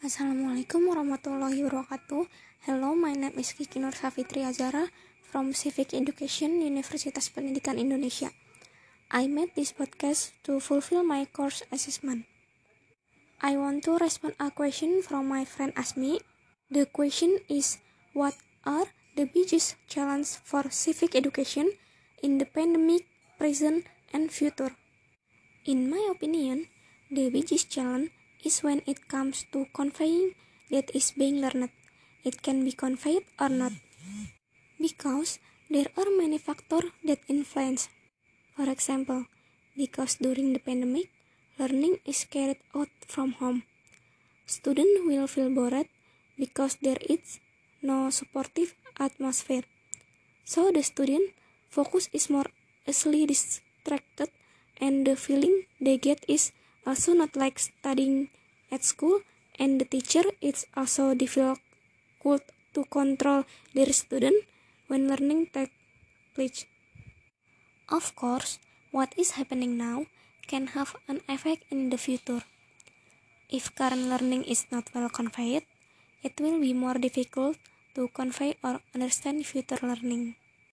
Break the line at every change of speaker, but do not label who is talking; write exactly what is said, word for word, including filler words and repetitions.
Assalamualaikum warahmatullahi wabarakatuh. Hello, my name is Kiki Nur Safitri Azara from Civic Education, Universitas Pendidikan Indonesia. I made this podcast to fulfill my course assessment. I want to respond a question from my friend Asmi. The question is, what are the biggest challenges for civic education in the pandemic, present, and future? In my opinion, the biggest challenge is when it comes to conveying that is being learned. It can be conveyed or not, because there are many factors that influence. For example, because during the pandemic, learning is carried out from home. Students will feel bored because there is no supportive atmosphere. So the student focus is more easily distracted, and the feeling they get is also not like studying at school, and the teacher is also difficult to control their student when learning takes place. Of course, what is happening now can have an effect in the future. If current learning is not well conveyed, it will be more difficult to convey or understand future learning.